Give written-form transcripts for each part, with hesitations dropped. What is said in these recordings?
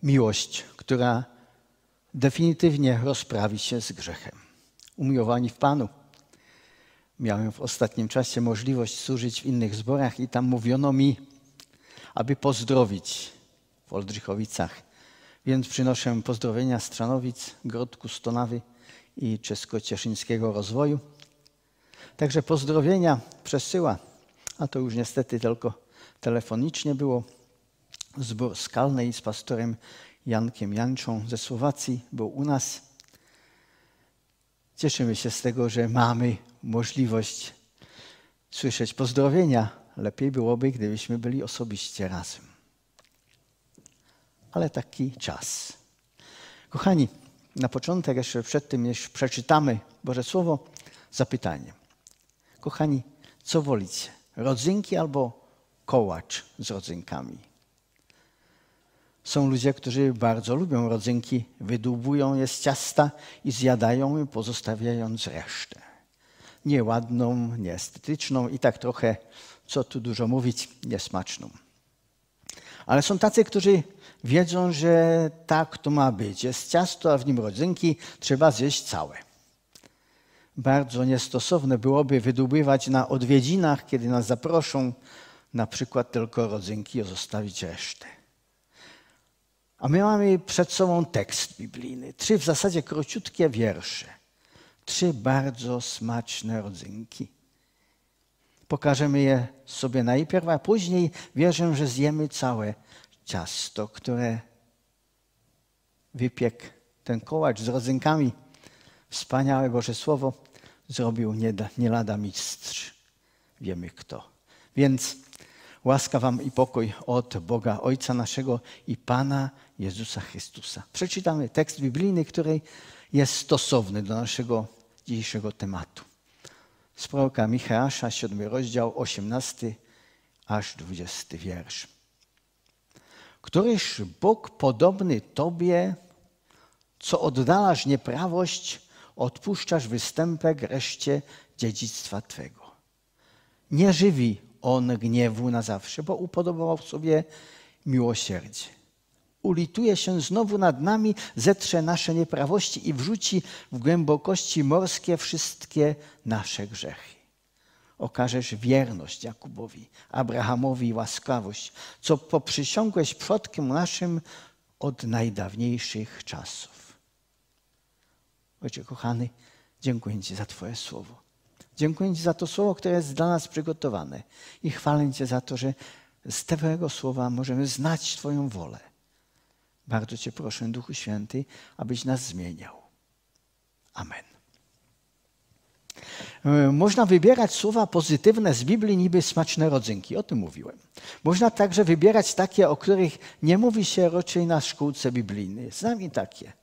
miłość, która definitywnie rozprawi się z grzechem. Umiłowani w Panu. Miałem w ostatnim czasie możliwość służyć w innych zborach i tam mówiono mi, aby pozdrowić w Oldrzychowicach. Więc przynoszę pozdrowienia z Trzanowic, Grodku, Stonawy i Czesko-Cieszyńskiego Rozwoju. Także pozdrowienia przesyła, a to już niestety tylko telefonicznie było. Zbór Skalnej z pastorem Jankiem Janczą ze Słowacji był u nas. Cieszymy się z tego, że mamy możliwość słyszeć pozdrowienia. Lepiej byłoby, gdybyśmy byli osobiście razem. Ale taki czas. Kochani, na początek, jeszcze przed tym, jeśli przeczytamy Boże Słowo, zapytanie. Kochani, co wolicie? Rodzynki albo kołacz z rodzynkami? Są ludzie, którzy bardzo lubią rodzynki, wydłubują je z ciasta i zjadają je, pozostawiając resztę. Nieładną, nieestetyczną i tak trochę, co tu dużo mówić, niesmaczną. Ale są tacy, którzy wiedzą, że tak to ma być. Jest ciasto, a w nim rodzynki, trzeba zjeść całe. Bardzo niestosowne byłoby wydłubywać na odwiedzinach, kiedy nas zaproszą, na przykład tylko rodzynki, a zostawić resztę. A my mamy przed sobą tekst biblijny. 3 w zasadzie króciutkie wiersze. 3 bardzo smaczne rodzynki. Pokażemy je sobie najpierw, a później wierzę, że zjemy całe ciasto, które wypiekł ten kołacz z rodzynkami. Wspaniałe Boże Słowo zrobił nie lada mistrz. Wiemy kto. Więc łaska wam i pokój od Boga Ojca naszego i Pana Jezusa Chrystusa. Przeczytamy tekst biblijny, który jest stosowny do naszego dzisiejszego tematu. Z proroka Micheasza, 7 rozdział, 18 aż 20 wiersz. Któryż Bóg podobny Tobie, co oddalasz nieprawość, odpuszczasz występek reszcie dziedzictwa Twego. Nie żywi On gniewu na zawsze, bo upodobał sobie miłosierdzie. Ulituje się znowu nad nami, zetrze nasze nieprawości i wrzuci w głębokości morskie wszystkie nasze grzechy. Okażesz wierność Jakubowi, Abrahamowi i łaskawość, co poprzysiągłeś przodkom naszym od najdawniejszych czasów. Ojcze kochany, dziękuję Ci za Twoje słowo. Dziękuję Ci za to słowo, które jest dla nas przygotowane. I chwalę Cię za to, że z Twojego słowa możemy znać Twoją wolę. Bardzo Cię proszę, Duchu Święty, abyś nas zmieniał. Amen. Można wybierać słowa pozytywne z Biblii, niby smaczne rodzynki. O tym mówiłem. Można także wybierać takie, o których nie mówi się raczej na szkółce biblijnej. Znam i takie.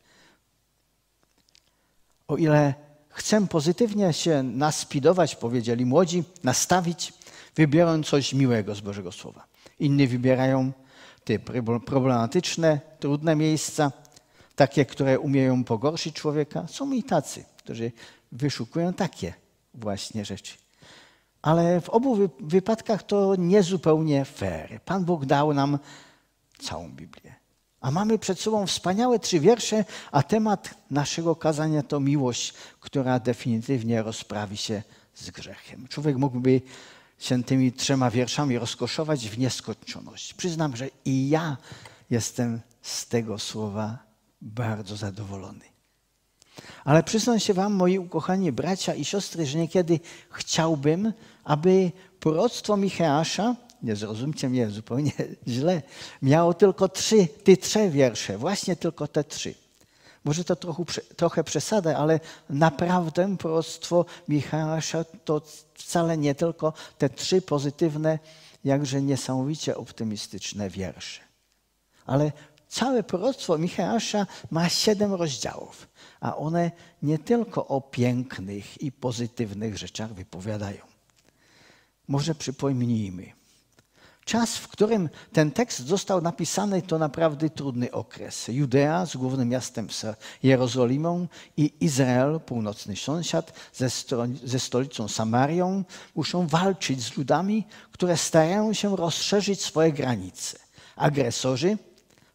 O ile chcę pozytywnie się naspidować, powiedzieli młodzi, nastawić, wybiorą coś miłego z Bożego Słowa. Inni wybierają te problematyczne, trudne miejsca, takie, które umieją pogorszyć człowieka. Są i tacy, którzy wyszukują takie właśnie rzeczy. Ale w obu wypadkach to niezupełnie fair. Pan Bóg dał nam całą Biblię. A mamy przed sobą wspaniałe 3 wiersze, a temat naszego kazania to miłość, która definitywnie rozprawi się z grzechem. Człowiek mógłby się tymi 3 wierszami rozkoszować w nieskończoność. Przyznam, że i ja jestem z tego słowa bardzo zadowolony. Ale przyznam się wam, moi ukochani bracia i siostry, że niekiedy chciałbym, aby proroctwo Micheasza, nie zrozumcie mnie zupełnie źle, miało tylko 3 wiersze, właśnie tylko te 3. Może to trochę przesada, ale naprawdę proroctwo Micheasza to wcale nie tylko te 3 pozytywne, jakże niesamowicie optymistyczne wiersze. Ale całe proroctwo Micheasza ma 7 rozdziałów, a one nie tylko o pięknych i pozytywnych rzeczach wypowiadają. Może przypomnijmy. Czas, w którym ten tekst został napisany, to naprawdę trudny okres. Judea z głównym miastem Jerozolimą i Izrael, północny sąsiad, ze stolicą Samarią, muszą walczyć z ludami, które starają się rozszerzyć swoje granice. Agresorzy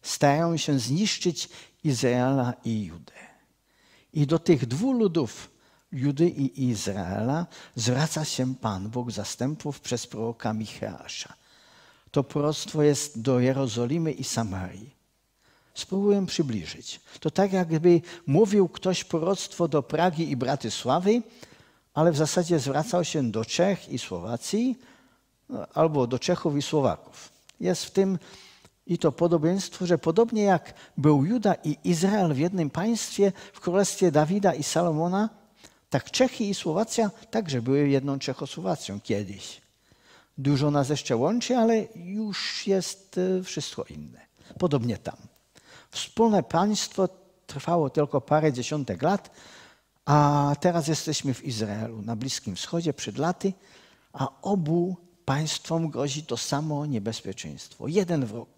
starają się zniszczyć Izraela i Judę. I do tych dwóch ludów, Judy i Izraela, zwraca się Pan Bóg zastępów przez proroka Micheasza. To proroctwo jest do Jerozolimy i Samarii. Spróbuję przybliżyć. To tak jakby mówił ktoś proroctwo do Pragi i Bratysławy, ale w zasadzie zwracał się do Czech i Słowacji albo do Czechów i Słowaków. Jest w tym i to podobieństwo, że podobnie jak był Juda i Izrael w jednym państwie, w królestwie Dawida i Salomona, tak Czechy i Słowacja także były jedną Czechosłowacją kiedyś. Dużo nas jeszcze łączy, ale już jest wszystko inne. Podobnie tam. Wspólne państwo trwało tylko parę dziesiątek lat, a teraz jesteśmy w Izraelu, na Bliskim Wschodzie przed laty, a obu państwom grozi to samo niebezpieczeństwo. Jeden wróg.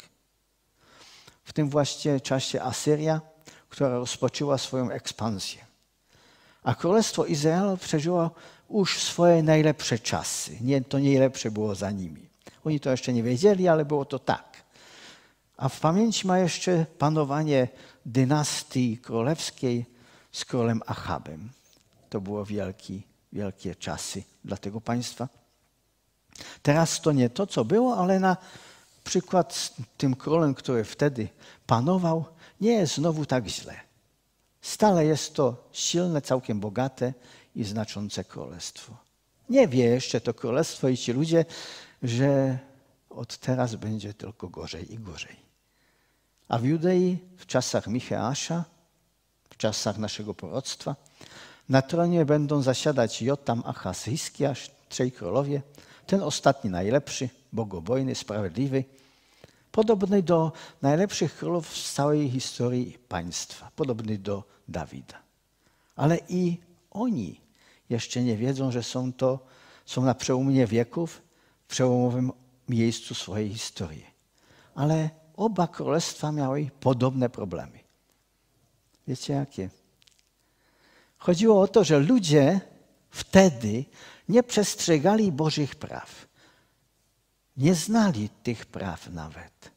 W tym właśnie czasie Asyria, która rozpoczęła swoją ekspansję. A Królestwo Izraela przeżyło już swoje najlepsze czasy. To najlepsze było za nimi. Oni to jeszcze nie wiedzieli, ale było to tak. A w pamięci ma jeszcze panowanie dynastii królewskiej z królem Achabem. To było wielkie czasy dla tego państwa. Teraz to nie to, co było, ale na przykład z tym królem, który wtedy panował, nie jest znowu tak źle. Stale jest to silne, całkiem bogate i znaczące królestwo. Nie wie jeszcze to królestwo i ci ludzie, że od teraz będzie tylko gorzej i gorzej. A w Judei w czasach Micheasza, w czasach naszego proroctwa, na tronie będą zasiadać Jotam, Achaz, Hiskiasz, 3 królowie, ten ostatni najlepszy, bogobojny, sprawiedliwy, podobny do najlepszych królów z całej historii państwa, podobny do Dawida. Ale i oni jeszcze nie wiedzą, że są na przełomie wieków, w przełomowym miejscu swojej historii. Ale oba królestwa miały podobne problemy. Wiecie jakie? Chodziło o to, że ludzie wtedy nie przestrzegali Bożych praw. Nie znali tych praw nawet.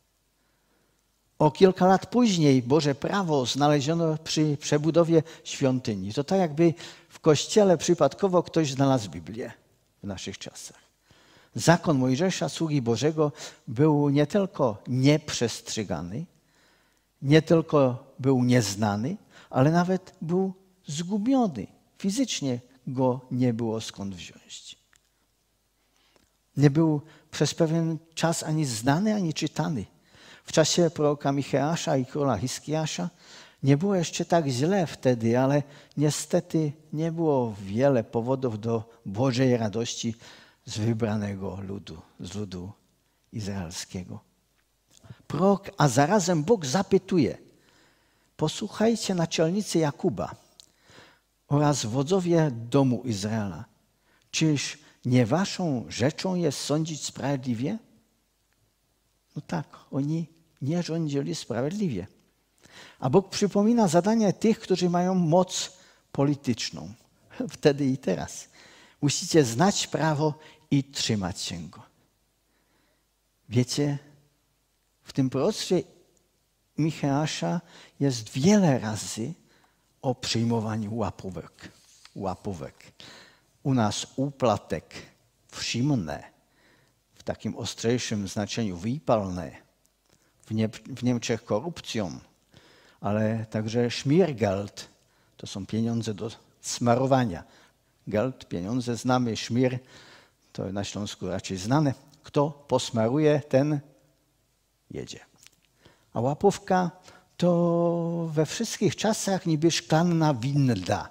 O kilka lat później Boże prawo znaleziono przy przebudowie świątyni. To tak jakby w kościele przypadkowo ktoś znalazł Biblię w naszych czasach. Zakon Mojżesza, sługi Bożego, był nie tylko nieprzestrzegany, nie tylko był nieznany, ale nawet był zgubiony. Fizycznie go nie było skąd wziąć. Nie był przez pewien czas ani znany, ani czytany. W czasie proroka Micheasza i króla Hiskiasza nie było jeszcze tak źle wtedy, ale niestety nie było wiele powodów do Bożej radości z wybranego ludu, z ludu izraelskiego. Prorok, a zarazem Bóg zapytuje: posłuchajcie naczelnicy Jakuba oraz wodzowie domu Izraela, czyż nie waszą rzeczą jest sądzić sprawiedliwie? No tak, oni nie rządzili sprawiedliwie. A Bóg przypomina zadanie tych, którzy mają moc polityczną. Wtedy i teraz. Musicie znać prawo i trzymać się go. Wiecie, w tym proroctwie Micheasza jest wiele razy o przyjmowaniu łapówek. U nas úplatek, všimné, w takim ostrzejszym znaczeniu výpalné, w Niemczech korupcją, ale także Schmiergeld, to są pieniądze do smarowania. Geld, pieniądze znamy, szmir, to na Śląsku raczej znane. Kto posmaruje, ten jedzie. A łapówka to we wszystkich czasach niby szklanna winda,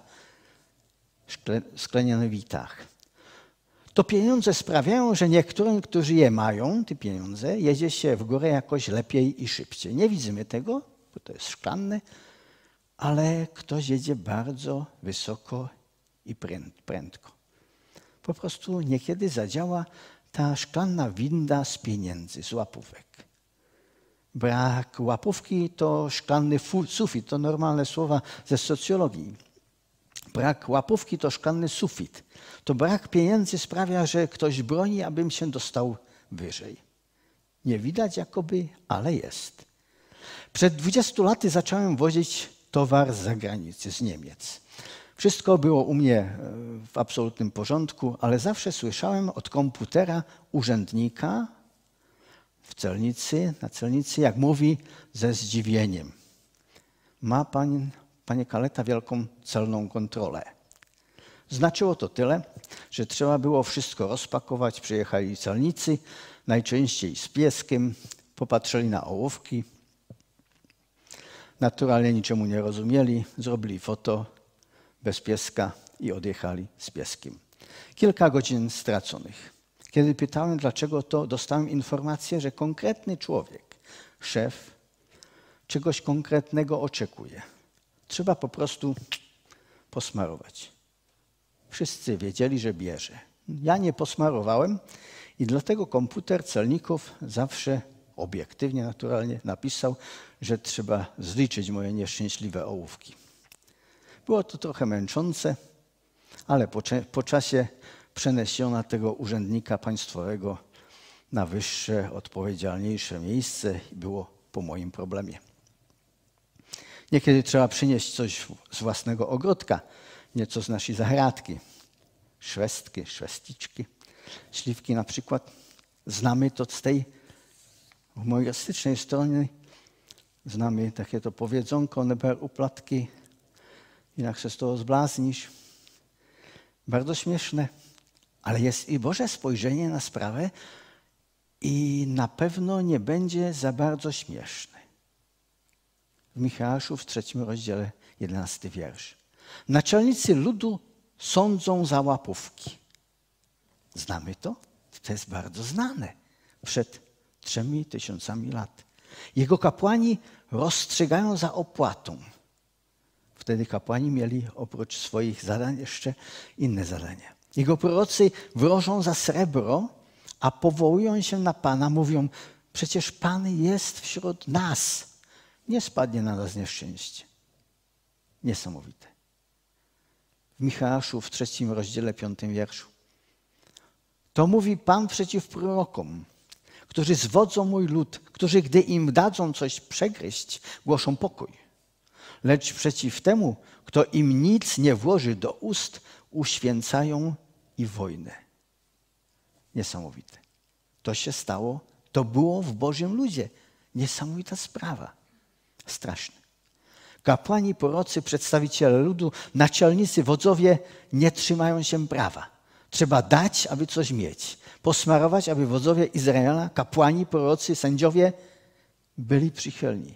sklenionowitach. To pieniądze sprawiają, że niektórym, którzy je mają, te pieniądze, jedzie się w górę jakoś lepiej i szybciej. Nie widzimy tego, bo to jest szklanne, ale ktoś jedzie bardzo wysoko i prędko. Po prostu niekiedy zadziała ta szklanna winda z pieniędzy, z łapówek. Brak łapówki to szklanny sufit, to normalne słowa ze socjologii. Brak łapówki to szklanny sufit. To brak pieniędzy sprawia, że ktoś broni, abym się dostał wyżej. Nie widać jakoby, ale jest. Przed 20 laty zacząłem wozić towar z zagranicy, z Niemiec. Wszystko było u mnie w absolutnym porządku, ale zawsze słyszałem od komputera urzędnika na celnicy, jak mówi ze zdziwieniem. Ma pan, panie Kaleta, wielką celną kontrolę. Znaczyło to tyle, że trzeba było wszystko rozpakować. Przyjechali celnicy, najczęściej z pieskiem, popatrzyli na ołówki. Naturalnie niczemu nie rozumieli, zrobili foto bez pieska i odjechali z pieskiem. Kilka godzin straconych. Kiedy pytałem, dlaczego to, dostałem informację, że konkretny człowiek, szef, czegoś konkretnego oczekuje. Trzeba po prostu posmarować. Wszyscy wiedzieli, że bierze. Ja nie posmarowałem i dlatego komputer celników zawsze obiektywnie, naturalnie napisał, że trzeba zliczyć moje nieszczęśliwe ołówki. Było to trochę męczące, ale po czasie przeniesiono tego urzędnika państwowego na wyższe, odpowiedzialniejsze miejsce i było po moim problemie. Niekiedy trzeba przynieść coś z własnego ogródka, nieco z naszej zagradki. Szwestki, szwesticzki, śliwki na przykład. Znamy to z tej humorystycznej strony. Znamy takie to powiedzonko, neber uplatki, inak się z toho zbláznisz. Bardzo śmieszne, ale jest i Boże spojrzenie na sprawę i na pewno nie będzie za bardzo śmieszne. W Micheaszu w 3 rozdziale 11 wiersz. Naczelnicy ludu sądzą za łapówki. Znamy to? To jest bardzo znane. Przed 3000 lat. Jego kapłani rozstrzygają za opłatą. Wtedy kapłani mieli oprócz swoich zadań jeszcze inne zadania. Jego prorocy wróżą za srebro, a powołują się na Pana, mówią, przecież Pan jest wśród nas. Nie spadnie na nas nieszczęście. Niesamowite. W Micheaszu w 3 rozdziale 5 wierszu. To mówi Pan przeciw prorokom, którzy zwodzą mój lud, którzy gdy im dadzą coś przegryźć, głoszą pokój. Lecz przeciw temu, kto im nic nie włoży do ust, uświęcają i wojnę. Niesamowite. To się stało, to było w Bożym ludzie. Niesamowita sprawa. Straszne. Kapłani, prorocy, przedstawiciele ludu, naczelnicy, wodzowie nie trzymają się prawa. Trzeba dać, aby coś mieć. Posmarować, aby wodzowie Izraela, kapłani, prorocy, sędziowie byli przychylni.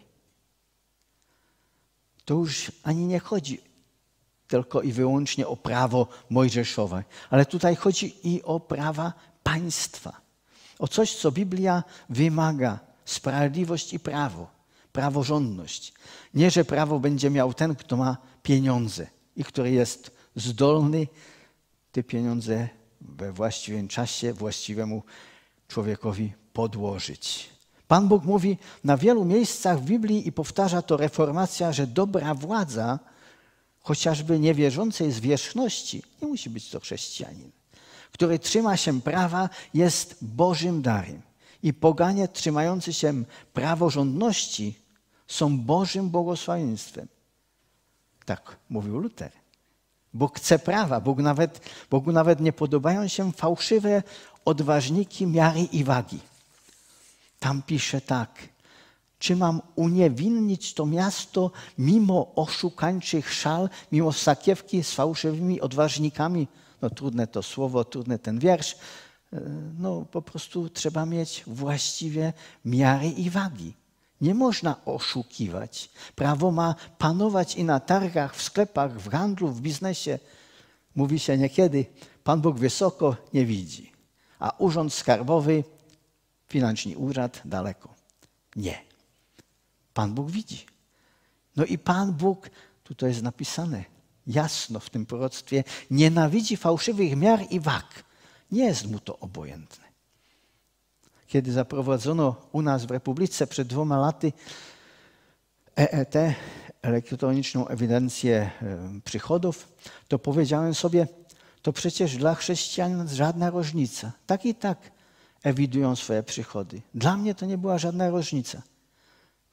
To już ani nie chodzi tylko i wyłącznie o prawo mojżeszowe, ale tutaj chodzi i o prawa państwa. O coś, co Biblia wymaga. Sprawiedliwość i prawo. Praworządność. Nie, że prawo będzie miał ten, kto ma pieniądze i który jest zdolny te pieniądze we właściwym czasie właściwemu człowiekowi podłożyć. Pan Bóg mówi na wielu miejscach w Biblii i powtarza to reformacja, że dobra władza, chociażby niewierzącej zwierzchności, nie musi być to chrześcijanin, który trzyma się prawa, jest Bożym darem. I poganie trzymający się praworządności są Bożym błogosławieństwem. Tak mówił Luter. Bóg chce prawa. Bogu nawet nie podobają się fałszywe odważniki miary i wagi. Tam pisze tak. Czy mam uniewinnić to miasto mimo oszukańczych szal, mimo sakiewki z fałszywymi odważnikami? No trudne to słowo, trudny ten wiersz. No po prostu trzeba mieć właściwie miary i wagi. Nie można oszukiwać. Prawo ma panować i na targach, w sklepach, w handlu, w biznesie. Mówi się niekiedy, Pan Bóg wysoko nie widzi, a urząd skarbowy, financzny urząd daleko. Nie. Pan Bóg widzi. No i Pan Bóg, tutaj jest napisane jasno w tym proroctwie, nienawidzi fałszywych miar i wag. Nie jest mu to obojętne. Kiedy zaprowadzono u nas w Republice przed 2 laty EET, elektroniczną ewidencję przychodów, to powiedziałem sobie, to przecież dla chrześcijan żadna różnica. Tak i tak ewidują swoje przychody. Dla mnie to nie była żadna różnica.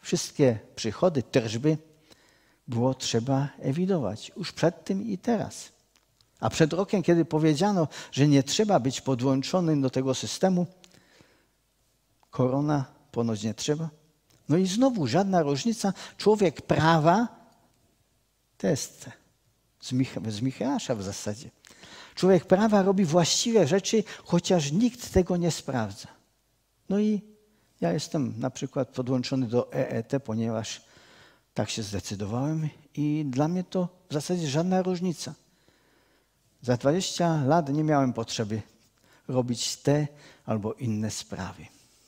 Wszystkie przychody, tržby było trzeba ewidować już przed tym i teraz. A przed rokiem, kiedy powiedziano, że nie trzeba być podłączonym do tego systemu, korona ponoć nie trzeba. No i znowu żadna różnica. Człowiek prawa, to jest z Micheasza w zasadzie. Człowiek prawa robi właściwe rzeczy, chociaż nikt tego nie sprawdza. No i ja jestem na przykład podłączony do EET, ponieważ tak się zdecydowałem i dla mnie to w zasadzie żadna różnica. Za 20 lat nie miałem potrzeby robić te albo inne sprawy.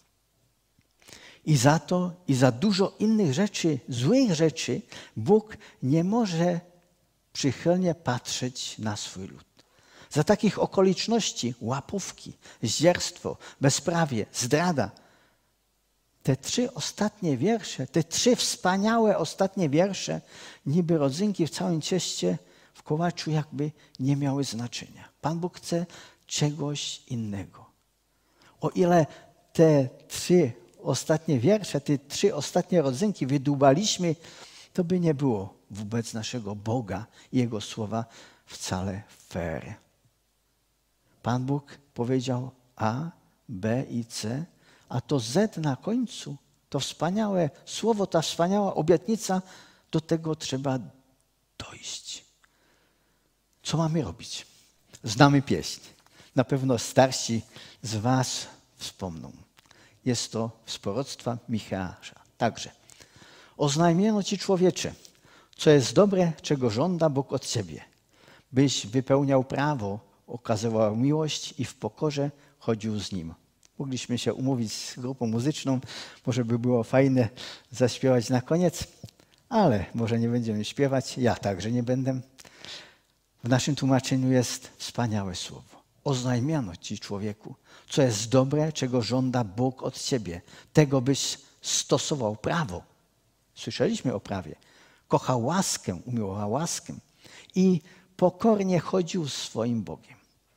I za to i za dużo innych rzeczy, złych rzeczy, Bóg nie może przychylnie patrzeć na swój lud. Za takich okoliczności łapówki, zdzierstwo, bezprawie, zdrada. Te 3 ostatnie wiersze, te 3 wspaniałe ostatnie wiersze, niby rodzynki w całym cieście, w kołaczu jakby nie miały znaczenia. Pan Bóg chce czegoś innego. O ile te 3 ostatnie wiersze, te 3 ostatnie rodzynki wydłubaliśmy, to by nie było wobec naszego Boga i Jego słowa wcale fair. Pan Bóg powiedział A, B i C, a to Z na końcu, to wspaniałe słowo, ta wspaniała obietnica, do tego trzeba dojść. Co mamy robić? Znamy pieśń. Na pewno starsi z was wspomną. Jest to z proroctwa Micheasza. Także oznajmiono ci, człowiecze, co jest dobre, czego żąda Bóg od ciebie, byś wypełniał prawo, okazywał miłość i w pokorze chodził z Nim. Mogliśmy się umówić z grupą muzyczną, może by było fajne zaśpiewać na koniec, ale może nie będziemy śpiewać, ja także nie będę. W naszym tłumaczeniu jest wspaniałe słowo. Oznajmiano ci, człowieku, co jest dobre, czego żąda Bóg od ciebie. Tego byś stosował prawo. Słyszeliśmy o prawie. Kochał łaskę, umiłował łaskę i pokornie chodził z swoim Bogiem.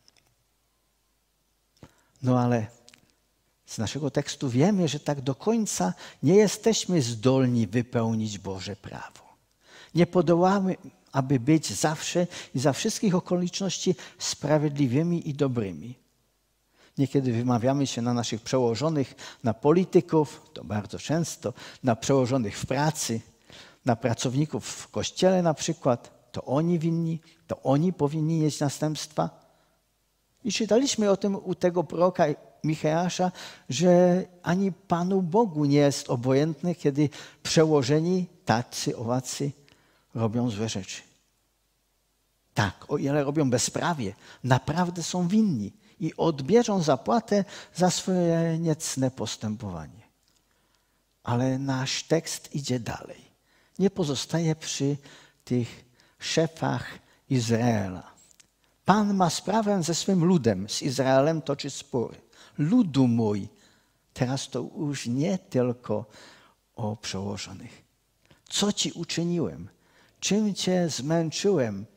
No ale z naszego tekstu wiemy, że tak do końca nie jesteśmy zdolni wypełnić Boże prawo. Nie podołamy, aby być zawsze i za wszystkich okoliczności sprawiedliwymi i dobrymi. Niekiedy wymawiamy się na naszych przełożonych, na polityków, to bardzo często, na przełożonych w pracy, na pracowników w kościele na przykład. To oni winni, to oni powinni nieść następstwa. I czytaliśmy o tym u tego proroka Micheasza, że ani Panu Bogu nie jest obojętny, kiedy przełożeni, tacy, owacy robią złe rzeczy. Tak, o ile robią bezprawie, naprawdę są winni i odbierzą zapłatę za swoje niecne postępowanie. Ale nasz tekst idzie dalej. Nie pozostaje przy tych szefach Izraela. Pan ma sprawę ze swym ludem, z Izraelem toczy spory. Ludu mój, teraz to już nie tylko o przełożonych. Co ci uczyniłem? Czym cię zmęczyłem,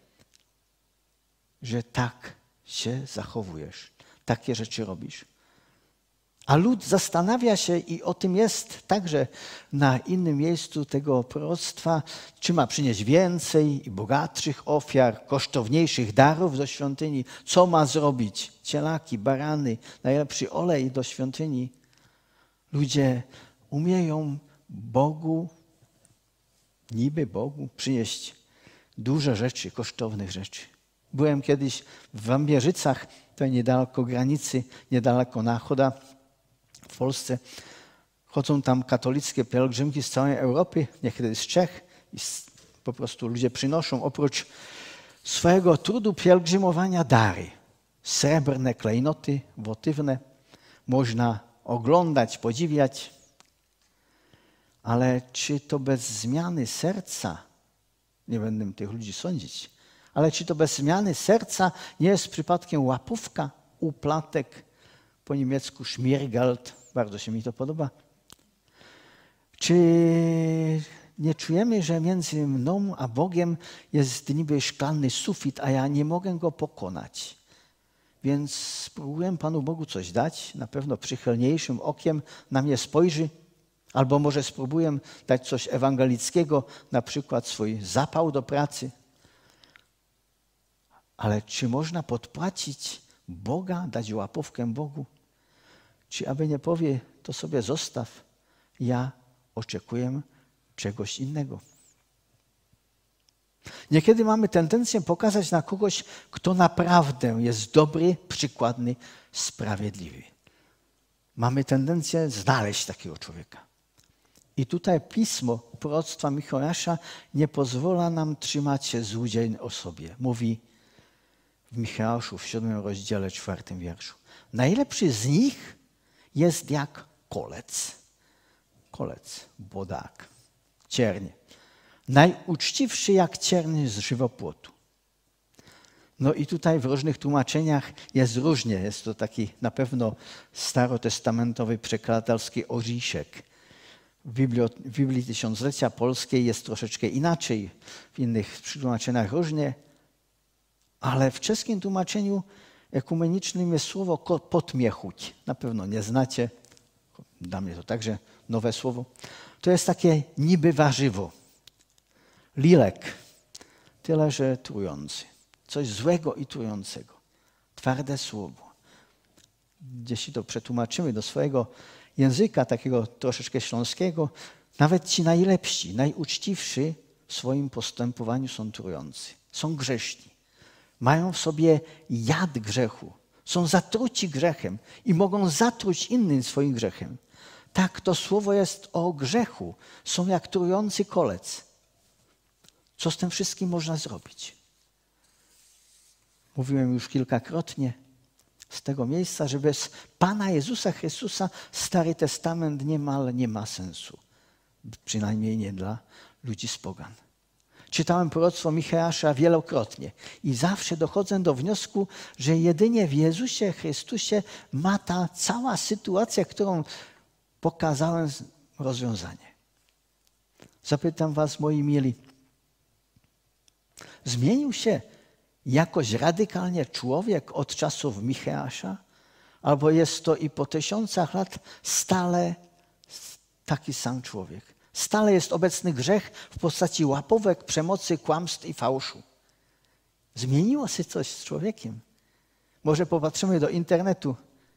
że tak się zachowujesz, takie rzeczy robisz? A lud zastanawia się i o tym jest także na innym miejscu tego proroctwa, czy ma przynieść więcej i bogatszych ofiar, kosztowniejszych darów do świątyni. Co ma zrobić? Cielaki, barany, najlepszy olej do świątyni. Ludzie umieją Bogu, niby Bogu, przynieść duże rzeczy, kosztownych rzeczy. Byłem kiedyś w Wambierzycach, to niedaleko granicy, niedaleko Nachoda. W Polsce chodzą tam katolickie pielgrzymki z całej Europy, niekiedy z Czech i po prostu ludzie przynoszą oprócz swojego trudu pielgrzymowania dary. Srebrne klejnoty, wotywne. Można oglądać, podziwiać. Ale czy to bez zmiany serca, nie będę tych ludzi sądzić, ale czy to bez zmiany serca nie jest przypadkiem łapówka, uplatek, po niemiecku Schmiergeld, bardzo się mi to podoba. Czy nie czujemy, że między mną a Bogiem jest niby szklany sufit, a ja nie mogę go pokonać? Więc spróbuję Panu Bogu coś dać, na pewno przychylniejszym okiem na mnie spojrzy, Albo może spróbuję dać coś ewangelickiego, na przykład swój zapał do pracy. Ale czy można podpłacić Boga, dać łapówkę Bogu? Czy aby nie powie, to sobie zostaw, ja oczekuję czegoś innego. Niekiedy mamy tendencję pokazać na kogoś, kto naprawdę jest dobry, przykładny, sprawiedliwy. Mamy tendencję znaleźć takiego człowieka. I tutaj pismo proroctwa Micheasza nie pozwala nam trzymać się złudzeń o sobie. Mówi w Micheaszu w 7 rozdziale 4 wierszu. Najlepszy z nich jest jak kolec. Kolec, bodak, cierń. Najuczciwszy jak cierń z żywopłotu. No i tutaj w różnych tłumaczeniach jest różnie. Jest to taki na pewno starotestamentowy przekladatelski orzeszek. W Biblii Tysiąclecia Polskiej jest troszeczkę inaczej, w innych tłumaczeniach różnie, ale w czeskim tłumaczeniu ekumenicznym jest słowo potmiechuć. Na pewno nie znacie, dla mnie to także nowe słowo. To jest takie niby warzywo, lilek, tyle że trujący. Coś złego i trującego. Twarde słowo. Jeśli to przetłumaczymy do swojego języka, takiego troszeczkę śląskiego, nawet ci najlepsi, najuczciwsi w swoim postępowaniu są trujący. Są grzeszni. Mają w sobie jad grzechu. Są zatruci grzechem i mogą zatruć innym swoim grzechem. Tak, to słowo jest o grzechu. Są jak trujący kolec. Co z tym wszystkim można zrobić? Mówiłem już kilkakrotnie z tego miejsca, że bez Pana Jezusa Chrystusa Stary Testament niemal nie ma sensu. Przynajmniej nie dla ludzi z pogan. Czytałem proroctwo Micheasza wielokrotnie i zawsze dochodzę do wniosku, że jedynie w Jezusie Chrystusie ma ta cała sytuacja, którą pokazałem, rozwiązanie. Zapytam was, moi mili, zmienił się jakoś radykalnie człowiek od czasów Micheasza? Albo jest to i po 1000 lat stale taki sam człowiek? Stale jest obecny grzech w postaci łapówek, przemocy, kłamstw i fałszu. Zmieniło się coś z człowiekiem. Może popatrzymy do internetu.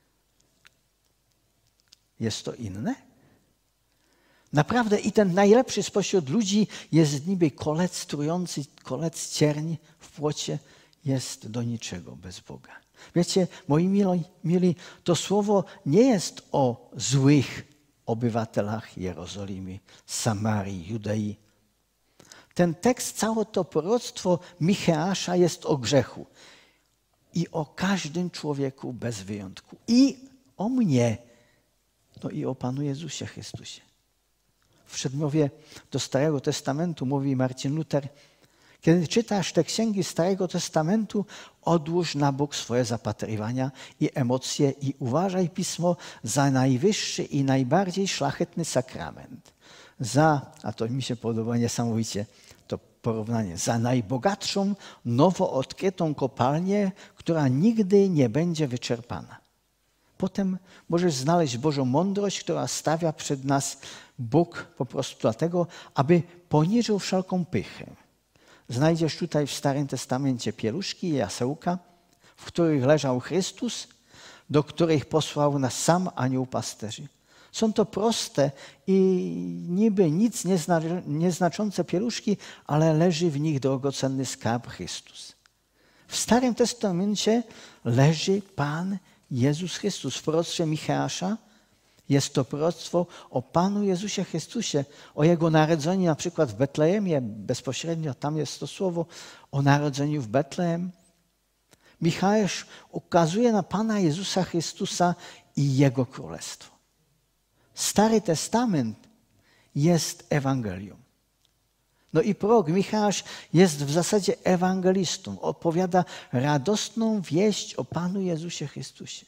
Jest to inne? Naprawdę i ten najlepszy spośród ludzi jest niby kolec trujący, kolec cierń w płocie, jest do niczego bez Boga. Wiecie, moi mili, to słowo nie jest o złych obywatelach Jerozolimy, Samarii, Judei. Ten tekst, całe to proroctwo Micheasza jest o grzechu i o każdym człowieku bez wyjątku. I o mnie, no i o Panu Jezusie Chrystusie. W przedmowie do Starego Testamentu mówi Marcin Luther, kiedy czytasz te księgi Starego Testamentu, odłóż na bok swoje zapatrywania i emocje i uważaj Pismo za najwyższy i najbardziej szlachetny sakrament. A to mi się podoba niesamowicie to porównanie, za najbogatszą, nowo odkrytą kopalnię, która nigdy nie będzie wyczerpana. Potem możesz znaleźć Bożą mądrość, która stawia przed nas Bóg po prostu dlatego, aby poniżył wszelką pychę. Znajdziesz tutaj w Starym Testamencie pieluszki i jasełka, w których leżał Chrystus, do których posłał nas sam anioł pasterzy. Są to proste i niby nic nieznaczące pieluszki, ale leży w nich drogocenny skarb Chrystus. W Starym Testamencie leży Pan Jezus Chrystus. W proroctwie Micheasza jest to proroctwo o Panu Jezusie Chrystusie, o Jego narodzeniu na przykład w Betlejemie, bezpośrednio tam jest to słowo o narodzeniu w Betlejem. Micheasz ukazuje na Pana Jezusa Chrystusa i Jego Królestwo. Stary Testament jest Ewangelią. No i prorok Micheasz jest w zasadzie ewangelistą. Opowiada radosną wieść o Panu Jezusie Chrystusie.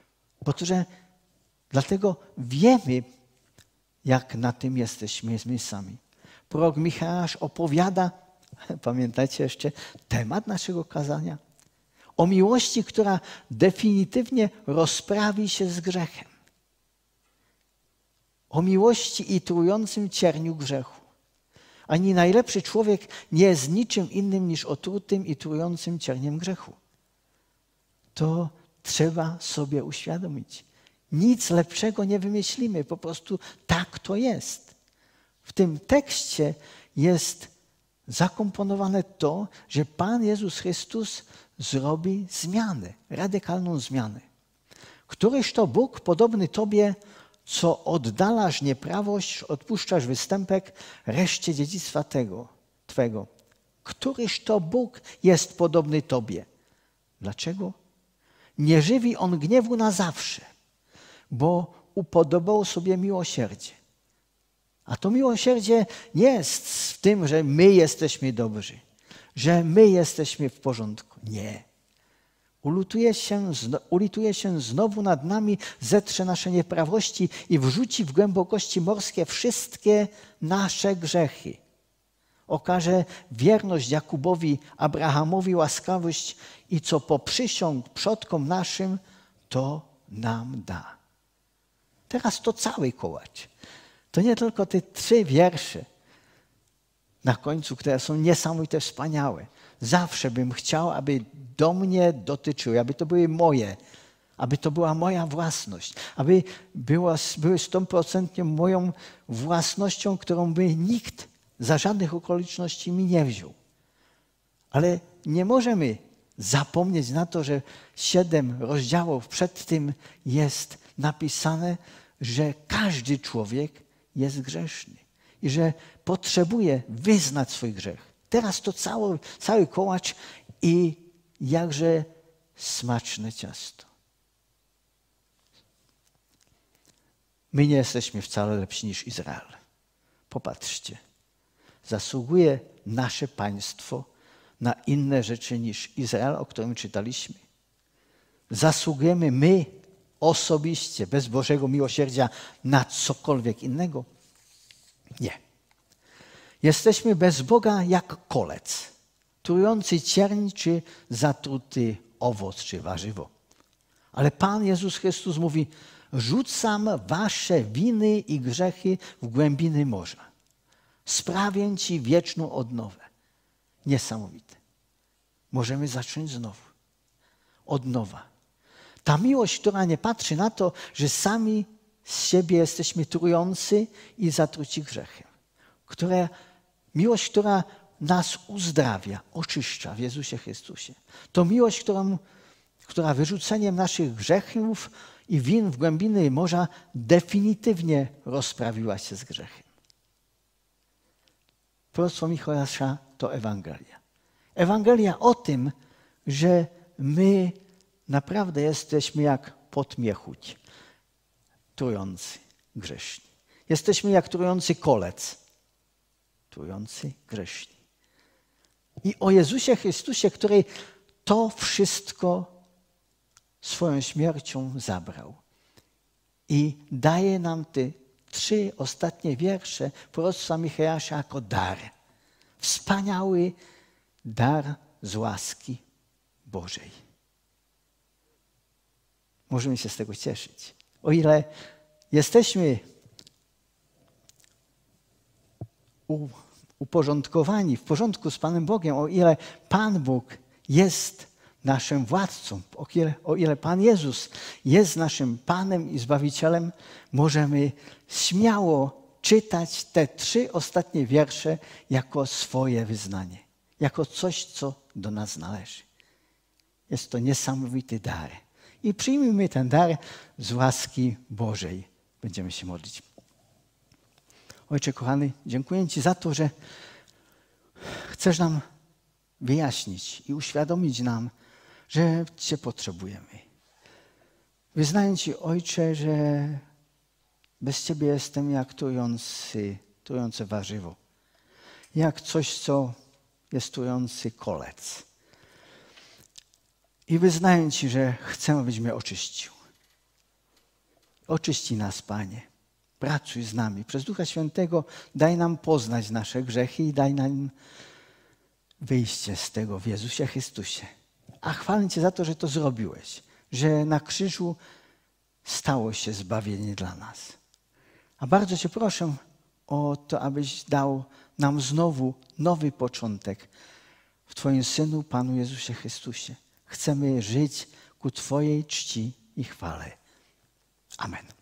Dlatego wiemy, jak na tym jesteśmy my sami. Prorok Micheasz opowiada, pamiętacie jeszcze, temat naszego kazania? O miłości, która definitywnie rozprawi się z grzechem. o miłości i trującym cierniu grzechu. Ani najlepszy człowiek nie jest niczym innym niż otrutym i trującym cierniem grzechu. To trzeba sobie uświadomić. Nic lepszego nie wymyślimy, po prostu tak to jest. W tym tekście jest zakomponowane to, że Pan Jezus Chrystus zrobi zmianę, radykalną zmianę. Któryż to Bóg podobny Tobie, co oddalasz nieprawość, odpuszczasz występek reszcie dziedzictwa Twego. Któryż to Bóg jest podobny Tobie? Dlaczego? Nie żywi On gniewu na zawsze, bo upodobał sobie miłosierdzie. A to miłosierdzie nie jest w tym, że my jesteśmy dobrzy, że my jesteśmy w porządku. Nie. Ulituje się znowu nad nami, zetrze nasze nieprawości i wrzuci w głębokości morskie wszystkie nasze grzechy. Okaże wierność Jakubowi, Abrahamowi łaskawość i co poprzysiąg przodkom naszym, to nam da. Teraz to cały kołacz. To nie tylko te 3 wiersze na końcu, które są niesamowite, wspaniałe. Zawsze bym chciał, aby do mnie dotyczyły, aby to były moje, aby to była moja własność, aby były 100% moją własnością, którą by nikt za żadnych okoliczności mi nie wziął. Ale nie możemy zapomnieć na to, że 7 rozdziałów przed tym jest napisane, że każdy człowiek jest grzeszny i że potrzebuje wyznać swój grzech. Teraz to cały kołacz i jakże smaczne ciasto. My nie jesteśmy wcale lepsi niż Izrael. Popatrzcie. Zasługuje nasze państwo na inne rzeczy niż Izrael, o którym czytaliśmy. Zasługujemy my osobiście, bez Bożego miłosierdzia, na cokolwiek innego? Nie. Jesteśmy bez Boga jak kolec, trujący cierń czy zatruty owoc czy warzywo. Ale Pan Jezus Chrystus mówi, rzucam wasze winy i grzechy w głębiny morza. Sprawię ci wieczną odnowę. Niesamowite. Możemy zacząć znowu. Od nowa. Ta miłość, która nie patrzy na to, że sami z siebie jesteśmy trujący i zatruci grzechem. Miłość, która nas uzdrawia, oczyszcza w Jezusie Chrystusie. To miłość, która wyrzuceniem naszych grzechów i win w głębiny morza definitywnie rozprawiła się z grzechem. Proroctwo Michała to Ewangelia. Ewangelia o tym, że my naprawdę jesteśmy jak podmiechuć, trujący, grzeszni. Jesteśmy jak trujący kolec, trujący, grzeszni. I o Jezusie Chrystusie, który to wszystko swoją śmiercią zabrał. I daje nam te 3 ostatnie wiersze proroctwa Michała jako dar. Wspaniały dar z łaski Bożej. Możemy się z tego cieszyć. O ile jesteśmy uporządkowani, w porządku z Panem Bogiem, o ile Pan Bóg jest naszym władcą, o ile Pan Jezus jest naszym Panem i Zbawicielem, możemy śmiało czytać te 3 ostatnie wiersze jako swoje wyznanie, jako coś, co do nas należy. Jest to niesamowity dar. I przyjmijmy ten dar z łaski Bożej. Będziemy się modlić. Ojcze kochany, dziękuję Ci za to, że chcesz nam wyjaśnić i uświadomić nam, że Cię potrzebujemy. Wyznaję Ci, Ojcze, że bez Ciebie jestem jak trujące warzywo. Jak coś, co jest trujący kolec. I wyznaję Ci, że chcę, abyś mnie oczyścił. Oczyści nas, Panie. Pracuj z nami. Przez Ducha Świętego daj nam poznać nasze grzechy i daj nam wyjście z tego w Jezusie Chrystusie. A chwalę Cię za to, że to zrobiłeś. Że na krzyżu stało się zbawienie dla nas. A bardzo Cię proszę o to, abyś dał nam znowu nowy początek w Twoim Synu, Panu Jezusie Chrystusie. Chcemy żyć ku Twojej czci i chwale. Amen.